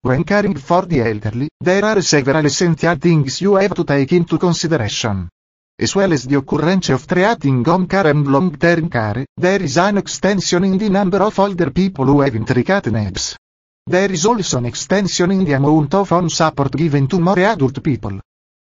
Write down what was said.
When caring for the elderly, there are several essential things you have to take into consideration. As well as the occurrence of treating home care and long-term care, there is an extension in the number of older people who have intricate needs. There is also an extension in the amount of home support given to more adult people.